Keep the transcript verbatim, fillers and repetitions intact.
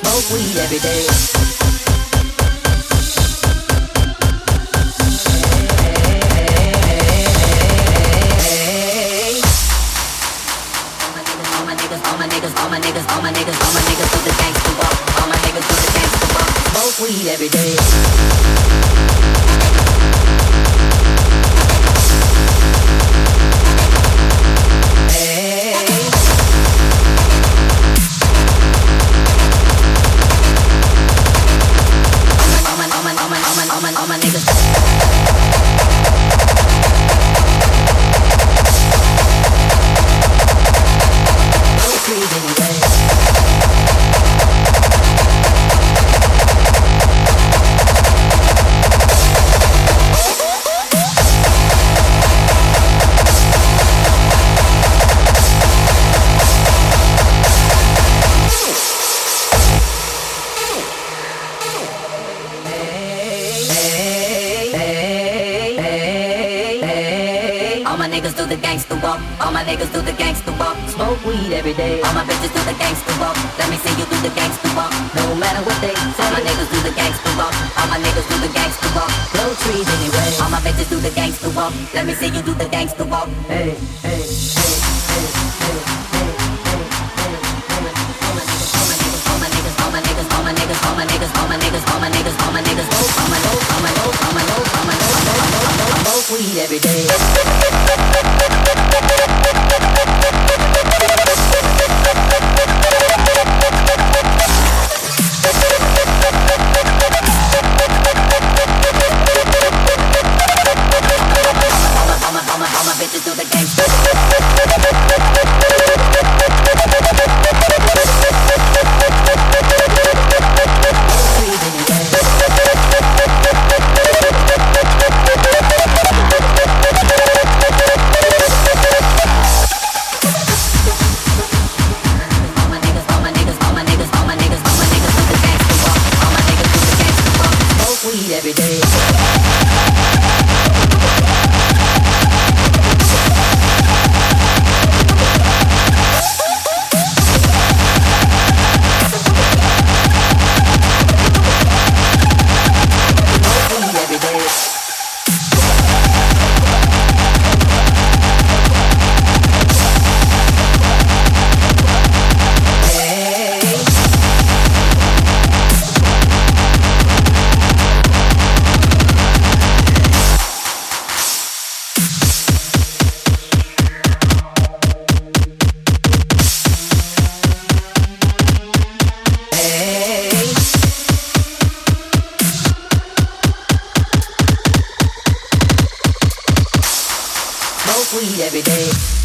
smoke weed every day. All my niggas, all my niggas, all my niggas, all my niggas, all my niggas do the gangsta walk. All my niggas do the gangsta walk. Smoke weed every day. All my niggas don't breathe anyway. All my niggas do the gangsta walk. All my niggas do the gangsta walk. Smoke weed every day. All my bitches do the gangsta walk. Let me see you do the gangsta walk. No matter what they say. All my niggas do the gangsta walk. All my niggas do the gangsta walk. Blow trees anyway. All my bitches do the gangsta walk. Let me see you do the gangsta walk. Hey, hey, hey, hey, hey, hey, hey, hey. All my niggas, all my niggas, all my niggas, all my niggas, all my niggas, all my niggas, all my niggas, all my niggas, all my niggas, all my niggas, all my niggas, all my niggas, all my niggas, all my niggas, smoke weed every day. Bitches do the gangsta. Every day. Smoke weed every day.